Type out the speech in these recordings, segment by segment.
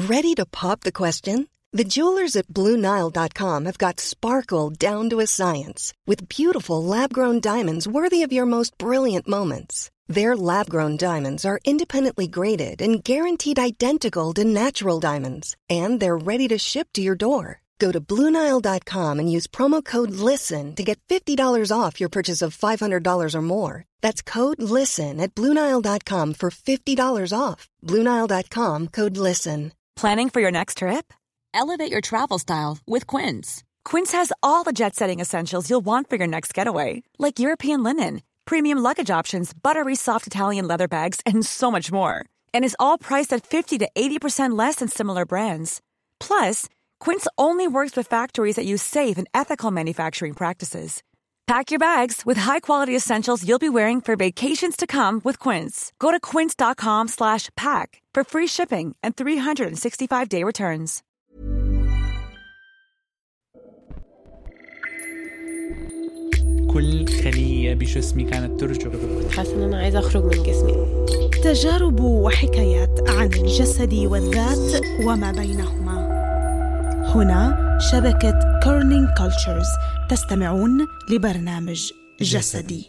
Ready to pop the question? The jewelers at BlueNile.com have got sparkle down to a science with beautiful lab-grown diamonds worthy of your most brilliant moments. Their lab-grown diamonds are independently graded and guaranteed identical to natural diamonds, and they're ready to ship to your door. Go to BlueNile.com and use promo code LISTEN to get $50 off your purchase of $500 or more. That's code LISTEN at BlueNile.com for $50 off. BlueNile.com, code LISTEN. Planning for your next trip? Elevate your travel style with Quince. Quince has all the jet-setting essentials you'll want for your next getaway, like European linen, premium luggage options, buttery soft Italian leather bags, and so much more. And is all priced at 50 to 80% less than similar brands. Plus, Quince only works with factories that use safe and ethical manufacturing practices. Pack your bags with high-quality essentials you'll be wearing for vacations to come with Quince. Go to quince.com/pack for free shipping and 365-day returns. كل خلية بجسمي كانت ترجف. حاسة إن أنا عايزة أخرج من جسمي. تجارب وحكايات عن الجسد والذات وما بينهما. هنا شبكة كورنينج كولتشرز. تستمعون لبرنامج جسدي.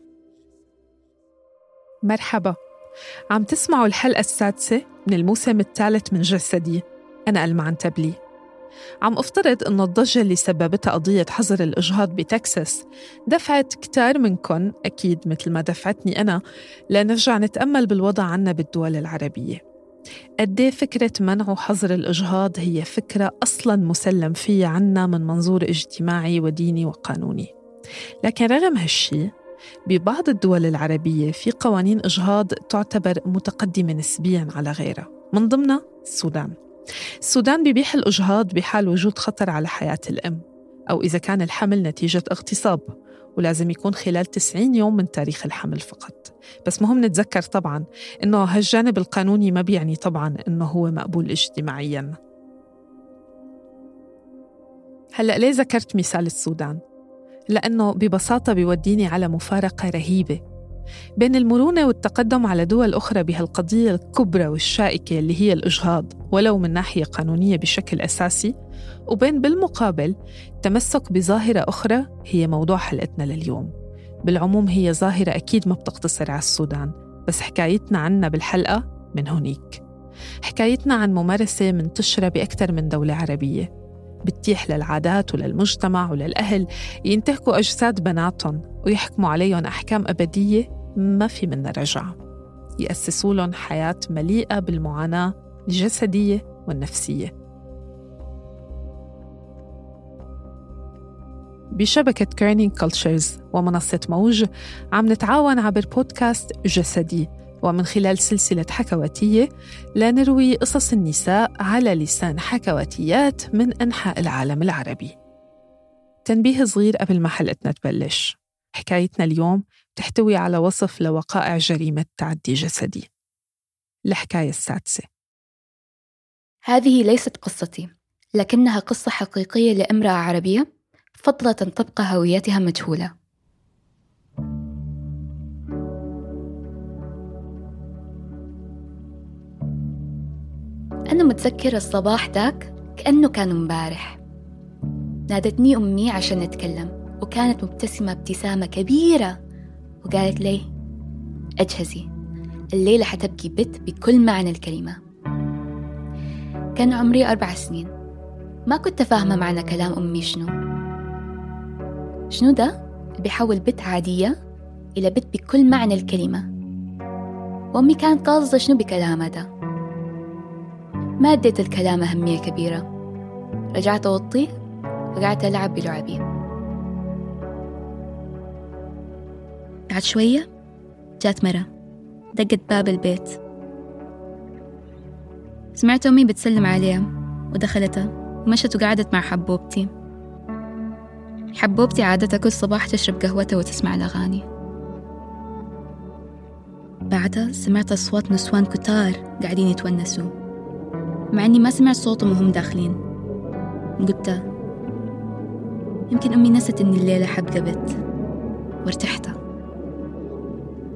مرحبا، عم تسمعوا الحلقة السادسة من الموسم الثالث من جسدي. أنا ألمعن تبلي. عم أفترض أن الضجة اللي سببتها قضية حظر الإجهاض بتكساس دفعت كتار منكن، أكيد مثل ما دفعتني أنا، لنرجع نتأمل بالوضع عنا بالدول العربية. قديه فكرة منع وحظر الإجهاض هي فكرة أصلاً مسلم فيها عنا من منظور اجتماعي وديني وقانوني. لكن رغم هالشي، ببعض الدول العربية في قوانين إجهاض تعتبر متقدمة نسبياً على غيرها، من ضمنها السودان. السودان بيبيح الإجهاض بحال وجود خطر على حياة الأم، أو إذا كان الحمل نتيجة اغتصاب، ولازم يكون خلال 90 يوم من تاريخ الحمل فقط. بس مهم نتذكر طبعاً إنه هالجانب القانوني ما بيعني طبعاً إنه هو مقبول اجتماعياً. هلأ ليه ذكرت مثال السودان؟ لأنه ببساطة بيوديني على مفارقة رهيبة بين المرونة والتقدم على دول أخرى بهالقضية الكبرى والشائكة اللي هي الإجهاض ولو من ناحية قانونية بشكل أساسي، وبين بالمقابل تمسك بظاهرة أخرى هي موضوع حلقتنا لليوم. بالعموم هي ظاهرة أكيد ما بتقتصر على السودان، بس حكايتنا عنها بالحلقة من هونيك. حكايتنا عن ممارسة منتشرة بأكثر من دولة عربية، بتتيح للعادات وللمجتمع وللأهل ينتهكوا أجساد بناتهم ويحكموا عليهم أحكام أبدية ما في منها رجعة، يأسسوا لهم حياة مليئة بالمعاناة الجسدية والنفسية. بشبكة كورنينج كولتشرز ومنصة موج عم نتعاون عبر بودكاست جسدي، ومن خلال سلسلة حكواتية لنروي قصص النساء على لسان حكواتيات من أنحاء العالم العربي. تنبيه صغير قبل ما حلقتنا تبلش، حكايتنا اليوم تحتوي على وصف لوقائع جريمة تعدي جسدي. الحكاية السادسة. هذه ليست قصتي، لكنها قصة حقيقية لامرأة عربية فضلت أن تبقى هويتها مجهولة. أنا متذكرة الصباح ذاك كأنه كان امبارح. نادتني أمي عشان نتكلم، وكانت مبتسمة ابتسامة كبيرة، وقالت لي أجهزي، الليلة حتبكي بت بكل معنى الكلمة. كان عمري 4 سنين، ما كنت فاهمة معنى كلام أمي شنو ده بيحول بت عادية إلى بت بكل معنى الكلمة. وأمي كانت قاصدة شنو بكلامها ده. ما اديت الكلام أهمية كبيرة، رجعت أوطي وقعدت ألعب بلعبي. بعد شوية جات مرة دقت باب البيت، سمعت أمي بتسلم عليها ودخلتها ومشت وقعدت مع حبوبتي. حبوبتي عادتها كل صباح تشرب قهوتها وتسمع الأغاني. بعدها سمعت أصوات نسوان كتار قاعدين يتونسوا، مع أني ما سمعت صوتهم وهم داخلين. قلت يمكن أمي نست أن الليلة حبقى بت، وارتحت.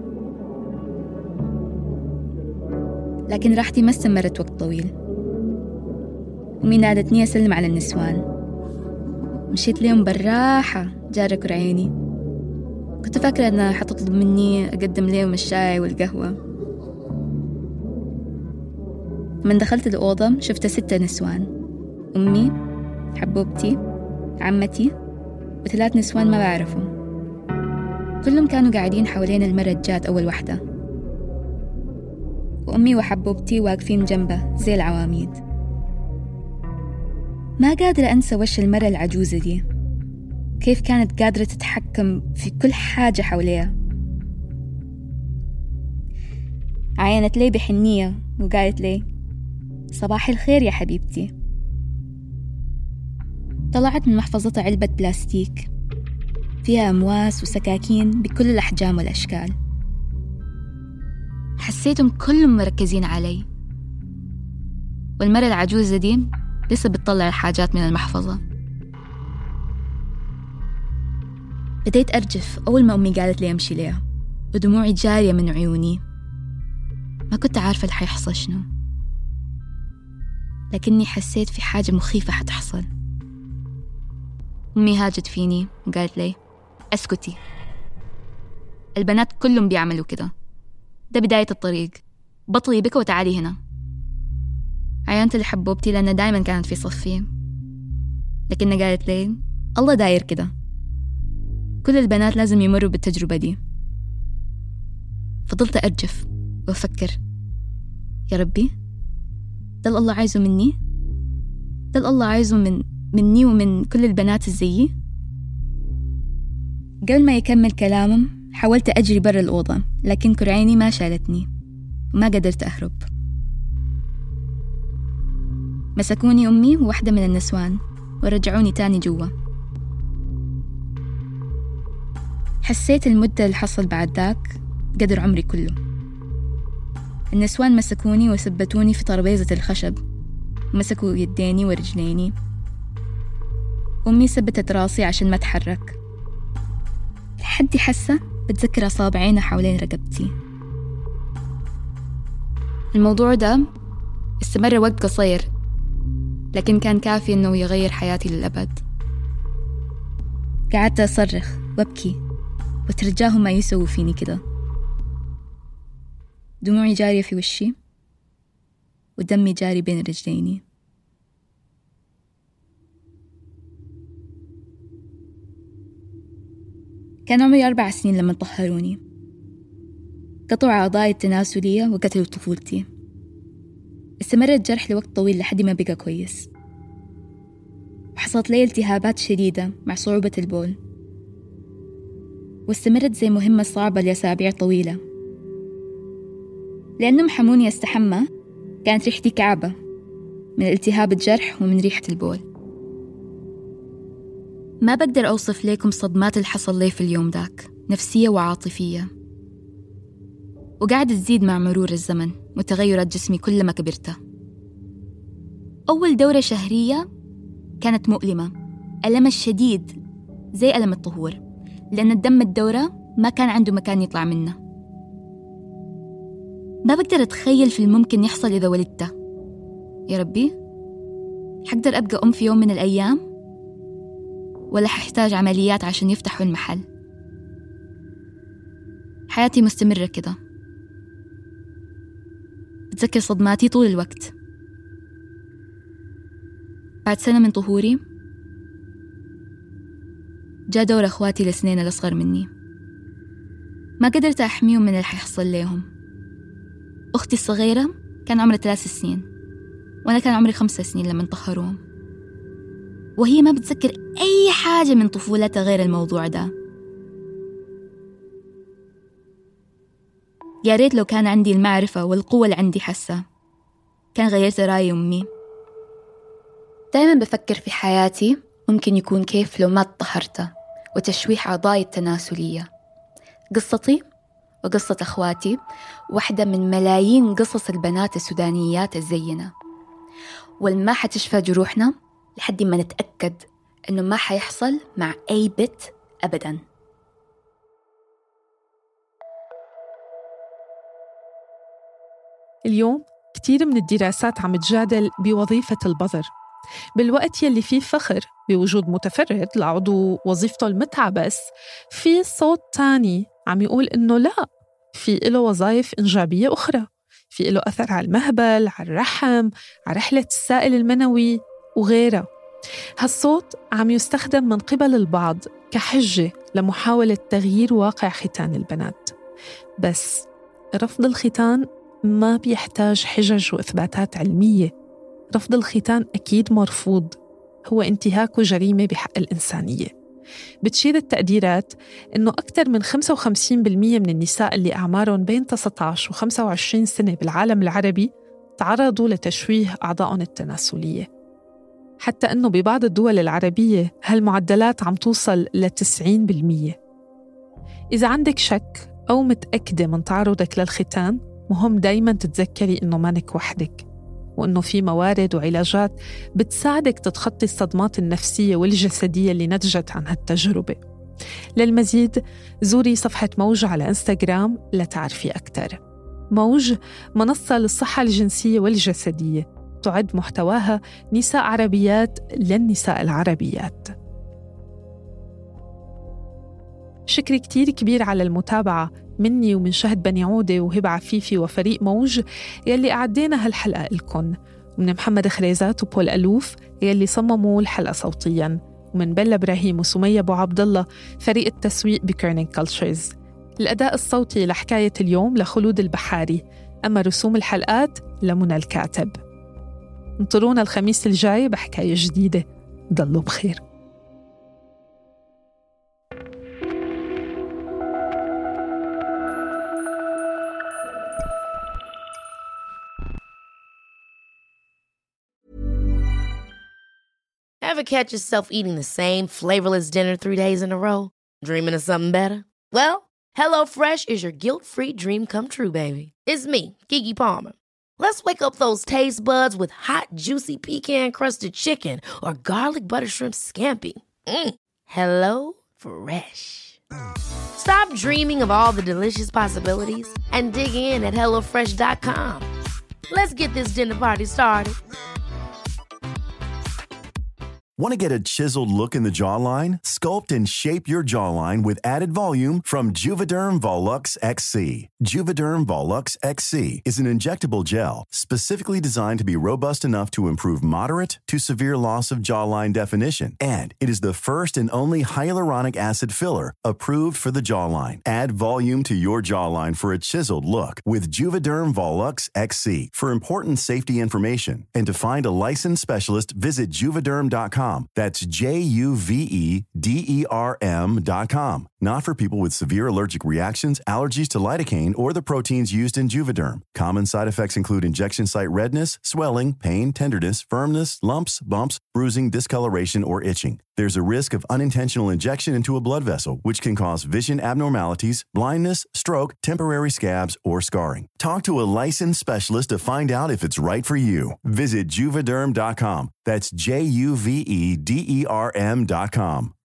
لكن راحتي ما استمرت وقت طويل. أمي نادتني أسلم على النسوان. مشيت ليهم بالراحة جارك عيني. كنت فاكرة أنها حتطلب مني أقدم ليهم الشاي والقهوة. من دخلت الأوضة شفت 6 نسوان: أمي، حبوبتي، عمتي، و3 نسوان ما بعرفهم. كلهم كانوا قاعدين حوالين المرة جات أول واحدة، وأمي وحبوبتي واقفين جنبه زي العواميد. ما قادرة أنسى وش المرة العجوزة دي، كيف كانت قادرة تتحكم في كل حاجة حواليها. عاينت لي بحنية وقالت لي: صباح الخير يا حبيبتي. طلعت من محفظتها علبة بلاستيك فيها أمواس وسكاكين بكل الأحجام والأشكال. حسيتهم كلهم مركزين علي، والمرة العجوزة دي لسه بتطلع الحاجات من المحفظة. بديت أرجف أول ما أمي قالت لي أمشي ليها، ودموعي جارية من عيوني. ما كنت عارفة اللي حيحصل شنو، لكني حسيت في حاجة مخيفة حتحصل. أمي هاجت فيني وقالت لي: أسكتي، البنات كلهم بيعملوا كده، ده بداية الطريق، بطلي بك وتعالي هنا. عينت لحبوبتي لأنها دايما كانت في صفي، لكنها قالت لي: الله داير كده، كل البنات لازم يمروا بالتجربة دي. فضلت أرجف وأفكر: يا ربي، ده الله عايزه مني؟ ده الله عايزه مني ومن كل البنات الزيي؟ قبل ما يكمل كلامهم حاولت أجري برا الأوضة، لكن كرعيني ما شالتني وما قدرت أهرب. مسكوني أمي وواحدة من النسوان ورجعوني تاني جوا. حسيت المدة اللي حصل بعد ذاك قدر عمري كله. النسوان مسكوني وثبتوني في ترابيزة الخشب، مسكوا يديني ورجليني. أمي ثبتت راسي عشان ما أتحرك، لحد حاسة بتذكر أصابعينها حوالين رقبتي. الموضوع ده استمر وقت قصير، لكن كان كافي إنه يغير حياتي للأبد. قعدت أصرخ وأبكي وترجاهم ما يسووا فيني كده. دموعي جارية في وشي ودمي جاري بين رجليني. كان عمري 4 سنين لما طهروني. قطعوا أعضائي التناسلية وقتلوا طفولتي. استمر الجرح لوقت طويل لحد ما بقى كويس، وحصلت لي التهابات شديدة مع صعوبة البول، واستمرت زي مهمة صعبة لأسابيع طويلة. لأنهم حموني أستحمى كانت ريحتي كعبة من التهاب الجرح ومن ريحة البول. ما بقدر أوصف لكم صدمات اللي حصل لي في اليوم داك، نفسية وعاطفية، وقاعدة تزيد مع مرور الزمن وتغيرات جسمي كل ما كبرت. أول دورة شهرية كانت مؤلمة، ألم الشديد زي ألم الطهور، لأن الدم الدورة ما كان عنده مكان يطلع منه. ما بقدر أتخيل في الممكن يحصل إذا ولدت. يا ربي، حقدر أبقى أم في يوم من الأيام، ولا ححتاج عمليات عشان يفتحوا المحل؟ حياتي مستمرة كده، بتذكر صدماتي طول الوقت. بعد سنة من طهوري جاء دور أخواتي السنين الأصغر مني. ما قدرت أحميهم من اللي حيحصل لهم. أختي الصغيرة كان عمرها 3 سنين، وأنا كان عمري 5 سنين لما طهروهم، وهي ما بتذكر أي حاجة من طفولتها غير الموضوع ده. يا ريت لو كان عندي المعرفة والقوة اللي عندي حسة، كان غيرت رأي أمي. دايما بفكر في حياتي ممكن يكون كيف لو ما طهرت وتشويح أعضائي التناسلية. قصتي وقصة أخواتي واحدة من ملايين قصص البنات السودانيات الزينة، والما حتشفى جروحنا لحد ما نتأكد إنه ما حيحصل مع أي بنت أبداً. اليوم كتير من الدراسات عم تجادل بوظيفة البظر، بالوقت يلي فيه فخر بوجود متفرد لعضو وظيفته المتعة بس، في صوت تاني عم يقول إنه لا، في له وظائف إنجابية أخرى، في له أثر على المهبل، على الرحم، على رحلة السائل المنوي وغيرها. هالصوت عم يستخدم من قبل البعض كحجة لمحاولة تغيير واقع ختان البنات. بس رفض الختان ما بيحتاج حجج وإثباتات علمية. رفض الختان أكيد مرفوض، هو انتهاك وجريمة بحق الإنسانية. بتشير التقديرات إنه أكثر من 55% من النساء اللي أعمارهم بين 19 و 25 سنة بالعالم العربي تعرضوا لتشويه أعضائهم التناسلية، حتى أنه ببعض الدول العربية هالمعدلات عم توصل ل 90%. إذا عندك شك أو متأكدة من تعرضك للختان، مهم دايماً تتذكري إنه مانك وحدك، وإنه في موارد وعلاجات بتساعدك تتخطي الصدمات النفسية والجسدية اللي نتجت عن هالتجربة. للمزيد زوري صفحة موج على إنستغرام لتعرفي أكثر. موج منصة للصحة الجنسية والجسدية، تعد محتواها نساء عربيات للنساء العربيات. شكر كتير كبير على المتابعة مني ومن شهد بني عودة وهبة عفيفي وفريق موج يلي أعدينا هالحلقة لكم، ومن محمد خريزات وبول ألوف يلي صمموا الحلقة صوتياً، ومن بلا إبراهيم وسمية أبو عبد الله فريق التسويق بكورنينج كولتشرز. الأداء الصوتي لحكاية اليوم لخلود البحاري، أما رسوم الحلقات لمنى الكاتب. انطرونا الخميس الجاي بحكاية جديدة. ضلوا بخير. Ever catch yourself eating the same flavorless dinner 3 days in a row? Dreaming of something better? Well, HelloFresh is your guilt-free dream come true, baby. It's me, Keke Palmer. Let's wake up those taste buds with hot, juicy pecan-crusted chicken or garlic butter shrimp scampi. Hello Fresh. Stop dreaming of all the delicious possibilities and dig in at HelloFresh.com. Let's get this dinner party started. Want to get a chiseled look in the jawline? Sculpt and shape your jawline with added volume from Juvederm Volux XC. Juvederm Volux XC is an injectable gel specifically designed to be robust enough to improve moderate to severe loss of jawline definition. And it is the first and only hyaluronic acid filler approved for the jawline. Add volume to your jawline for a chiseled look with Juvederm Volux XC. For important safety information and to find a licensed specialist, visit juvederm.com. That's JUVEDERM.com. Not for people with severe allergic reactions, allergies to lidocaine, or the proteins used in Juvederm. Common side effects include injection site redness, swelling, pain, tenderness, firmness, lumps, bumps, bruising, discoloration, or itching. There's a risk of unintentional injection into a blood vessel, which can cause vision abnormalities, blindness, stroke, temporary scabs, or scarring. Talk to a licensed specialist to find out if it's right for you. Visit Juvederm.com. That's JUVEDERM.com.